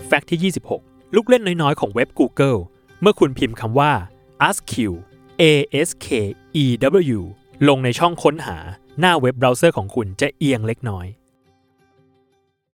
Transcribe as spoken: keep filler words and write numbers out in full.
แฟกต์ที่ยี่สิบหกลูกเล่นน้อยๆของเว็บ Google เมื่อคุณพิมพ์คำว่า ask เอ เอส เค อี ดับเบิลยู ลงในช่องค้นหาหน้าเว็บเบราว์เซอร์ของคุณจะเอียงเล็กน้อย